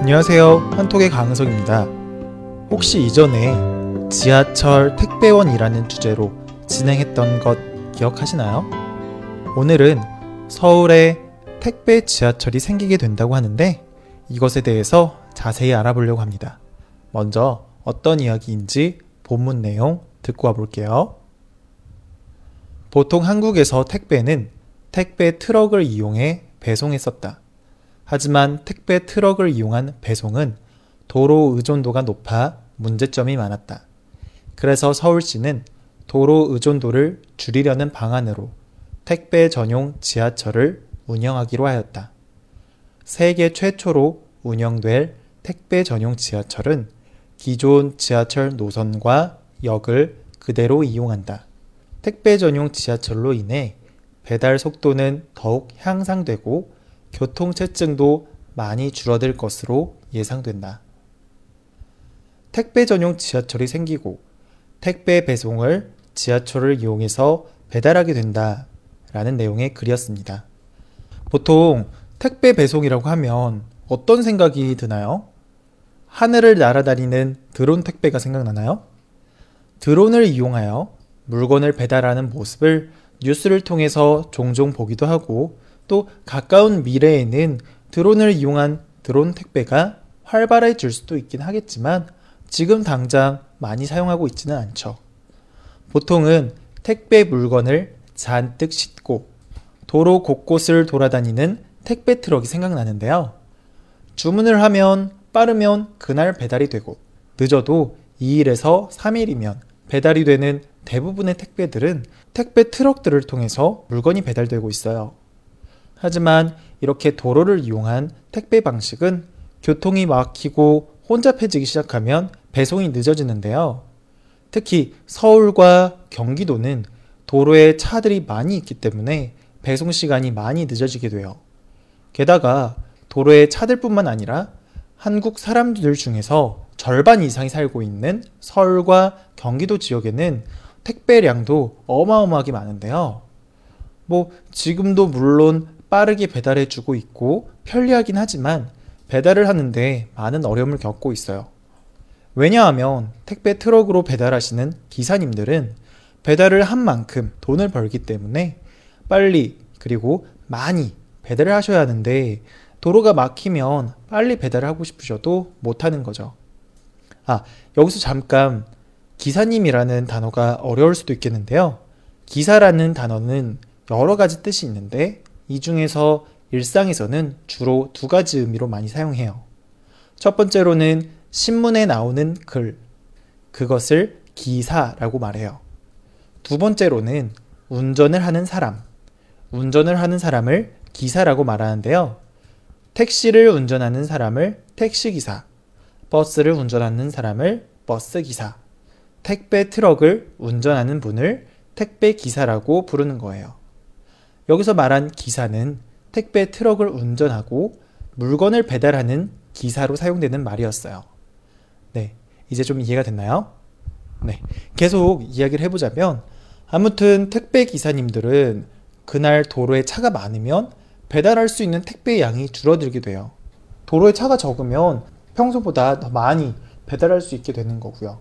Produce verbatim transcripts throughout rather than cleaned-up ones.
안녕하세요. 한톡의 강은석입니다. 혹시 이전에 지하철 택배원이라는 주제로 진행했던 것 기억하시나요? 오늘은 서울에 택배 지하철이 생기게 된다고 하는데 이것에 대해서 자세히 알아보려고 합니다. 먼저 어떤 이야기인지 본문 내용 듣고 와볼게요. 보통 한국에서 택배는 택배 트럭을 이용해 배송했었다. 하지만 택배 트럭을 이용한 배송은 도로 의존도가 높아 문제점이 많았다. 그래서 서울시는 도로 의존도를 줄이려는 방안으로 택배 전용 지하철을 운영하기로 하였다. 세계 최초로 운영될 택배 전용 지하철은 기존 지하철 노선과 역을 그대로 이용한다. 택배 전용 지하철로 인해 배달 속도는 더욱 향상되고 교통체증도 많이 줄어들 것으로 예상된다. 택배 전용 지하철이 생기고 택배 배송을 지하철을 이용해서 배달하게 된다 라는 내용의 글이었습니다. 보통 택배 배송이라고 하면 어떤 생각이 드나요? 하늘을 날아다니는 드론 택배가 생각나나요? 드론을 이용하여 물건을 배달하는 모습을 뉴스를 통해서 종종 보기도 하고 또 가까운 미래에는 드론을 이용한 드론 택배가 활발해질 수도 있긴 하겠지만 지금 당장 많이 사용하고 있지는 않죠. 보통은 택배 물건을 잔뜩 싣고 도로 곳곳을 돌아다니는 택배 트럭이 생각나는데요. 주문을 하면 빠르면 그날 배달이 되고 늦어도 이 일에서 삼 일이면 배달이 되는 대부분의 택배들은 택배 트럭들을 통해서 물건이 배달되고 있어요. 하지만 이렇게 도로를 이용한 택배 방식은 교통이 막히고 혼잡해지기 시작하면 배송이 늦어지는데요. 특히 서울과 경기도는 도로에 차들이 많이 있기 때문에 배송 시간이 많이 늦어지게 돼요. 게다가 도로에 차들뿐만 아니라 한국 사람들 중에서 절반 이상이 살고 있는 서울과 경기도 지역에는 택배량도 어마어마하게 많은데요. 뭐 지금도 물론 빠르게 배달해주고 있고 편리하긴 하지만 배달을 하는데 많은 어려움을 겪고 있어요. 왜냐하면 택배 트럭으로 배달하시는 기사님들은 배달을 한 만큼 돈을 벌기 때문에 빨리 그리고 많이 배달을 하셔야 하는데 도로가 막히면 빨리 배달을 하고 싶으셔도 못하는 거죠. 아, 여기서 잠깐 기사님이라는 단어가 어려울 수도 있겠는데요. 기사라는 단어는 여러 가지 뜻이 있는데 이 중에서 일상에서는 주로 두 가지 의미로 많이 사용해요. 첫 번째로는 신문에 나오는 글, 그것을 기사라고 말해요. 두 번째로는 운전을 하는 사람, 운전을 하는 사람을 기사라고 말하는데요. 택시를 운전하는 사람을 택시기사, 버스를 운전하는 사람을 버스기사, 택배 트럭을 운전하는 분을 택배기사라고 부르는 거예요. 여기서 말한 기사는 택배 트럭을 운전하고 물건을 배달하는 기사로 사용되는 말이었어요. 네, 이제 좀 이해가 됐나요? 네, 계속 이야기를 해보자면 아무튼 택배 기사님들은 그날 도로에 차가 많으면 배달할 수 있는 택배의 양이 줄어들게 돼요. 도로에 차가 적으면 평소보다 더 많이 배달할 수 있게 되는 거고요.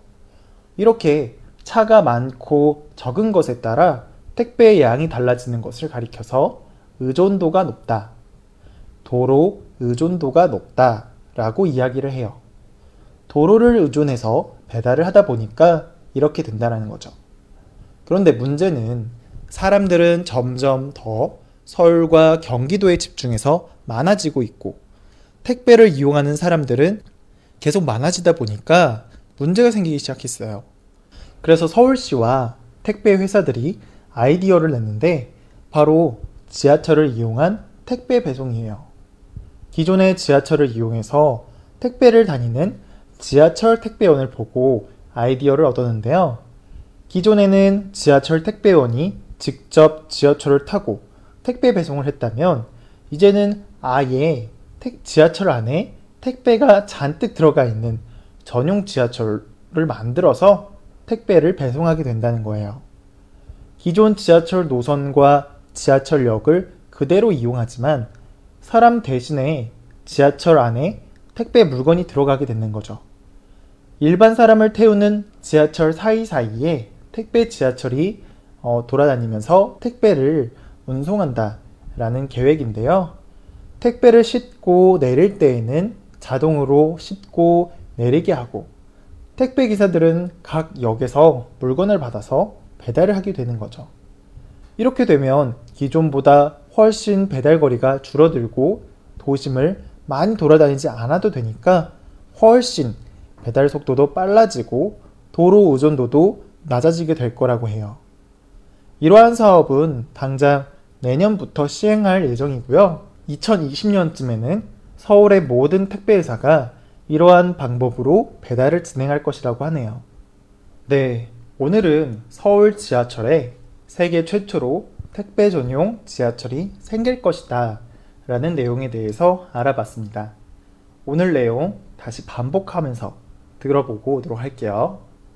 이렇게 차가 많고 적은 것에 따라 택배의 양이 달라지는 것을 가리켜서 의존도가 높다, 도로 의존도가 높다 라고 이야기를 해요. 도로를 의존해서 배달을 하다 보니까 이렇게 된다는 거죠. 그런데 문제는 사람들은 점점 더 서울과 경기도에 집중해서 많아지고 있고 택배를 이용하는 사람들은 계속 많아지다 보니까 문제가 생기기 시작했어요. 그래서 서울시와 택배 회사들이 아이디어를 냈는데 바로 지하철을 이용한 택배 배송이에요. 기존의 지하철을 이용해서 택배를 다니는 지하철 택배원을 보고 아이디어를 얻었는데요. 기존에는 지하철 택배원이 직접 지하철을 타고 택배 배송을 했다면 이제는 아예 지하철 안에 택배가 잔뜩 들어가 있는 전용 지하철을 만들어서 택배를 배송하게 된다는 거예요. 기존 지하철 노선과 지하철역을 그대로 이용하지만 사람 대신에 지하철 안에 택배 물건이 들어가게 되는 거죠. 일반 사람을 태우는 지하철 사이사이에 택배 지하철이 어, 돌아다니면서 택배를 운송한다 라는 계획인데요. 택배를 싣고 내릴 때에는 자동으로 싣고 내리게 하고, 택배 기사들은 각 역에서 물건을 받아서 배달을 하게 되는 거죠. 이렇게 되면 기존보다 훨씬 배달 거리가 줄어들고 도심을 많이 돌아다니지 않아도 되니까 훨씬 배달 속도도 빨라지고 도로 의존도도 낮아지게 될 거라고 해요. 이러한 사업은 당장 내년부터 시행할 예정이고요. 이천이십 년쯤에는 서울의 모든 택배회사가 이러한 방법으로 배달을 진행할 것이라고 하네요. 네, 오늘은 서울 지하철에 세계 최초로 택배 전용 지하철이 생길 것이다 라는 내용에 대해서 알아봤습니다. 오늘 내용 다시 반복하면서 들어보고 오도록 할게요.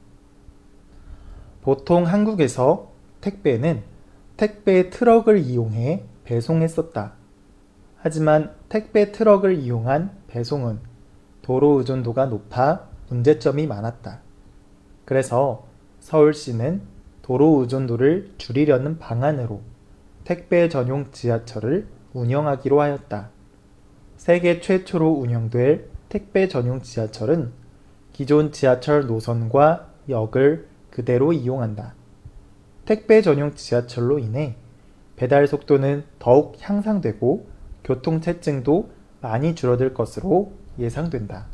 보통 한국에서 택배는 택배 트럭을 이용해 배송했었다. 하지만 택배 트럭을 이용한 배송은 도로 의존도가 높아 문제점이 많았다. 그래서 서울시는 도로 의존도를 줄이려는 방안으로 택배 전용 지하철을 운영하기로 하였다. 세계 최초로 운영될 택배 전용 지하철은 기존 지하철 노선과 역을 그대로 이용한다. 택배 전용 지하철로 인해 배달 속도는 더욱 향상되고 교통체증도 많이 줄어들 것으로 예상된다.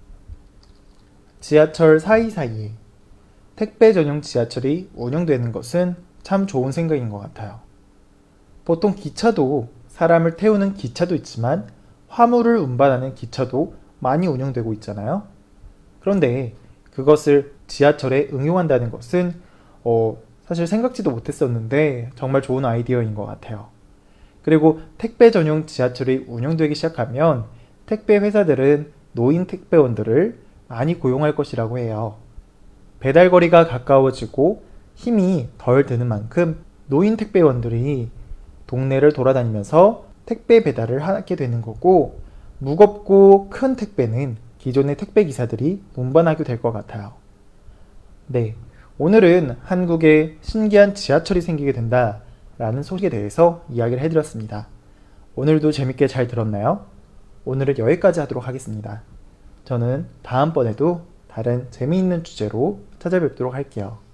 지하철 사이사이에 택배 전용 지하철이 운영되는 것은 참 좋은 생각인 것 같아요. 보통 기차도 사람을 태우는 기차도 있지만 화물을 운반하는 기차도 많이 운영되고 있잖아요. 그런데 그것을 지하철에 응용한다는 것은 어, 사실 생각지도 못했었는데 정말 좋은 아이디어인 것 같아요. 그리고 택배 전용 지하철이 운영되기 시작하면 택배 회사들은 노인 택배원들을 많이 고용할 것이라고 해요. 배달 거리가 가까워지고 힘이 덜 드는 만큼 노인 택배원들이 동네를 돌아다니면서 택배 배달을 하게 되는 거고, 무겁고 큰 택배는 기존의 택배 기사들이 운반하게 될 것 같아요. 네, 오늘은 한국에 신기한 지하철이 생기게 된다 라는 소식에 대해서 이야기를 해드렸습니다. 오늘도 재밌게 잘 들었나요? 오늘은 여기까지 하도록 하겠습니다. 저는 다음번에도 다른 재미있는 주제로 찾아뵙도록 할게요.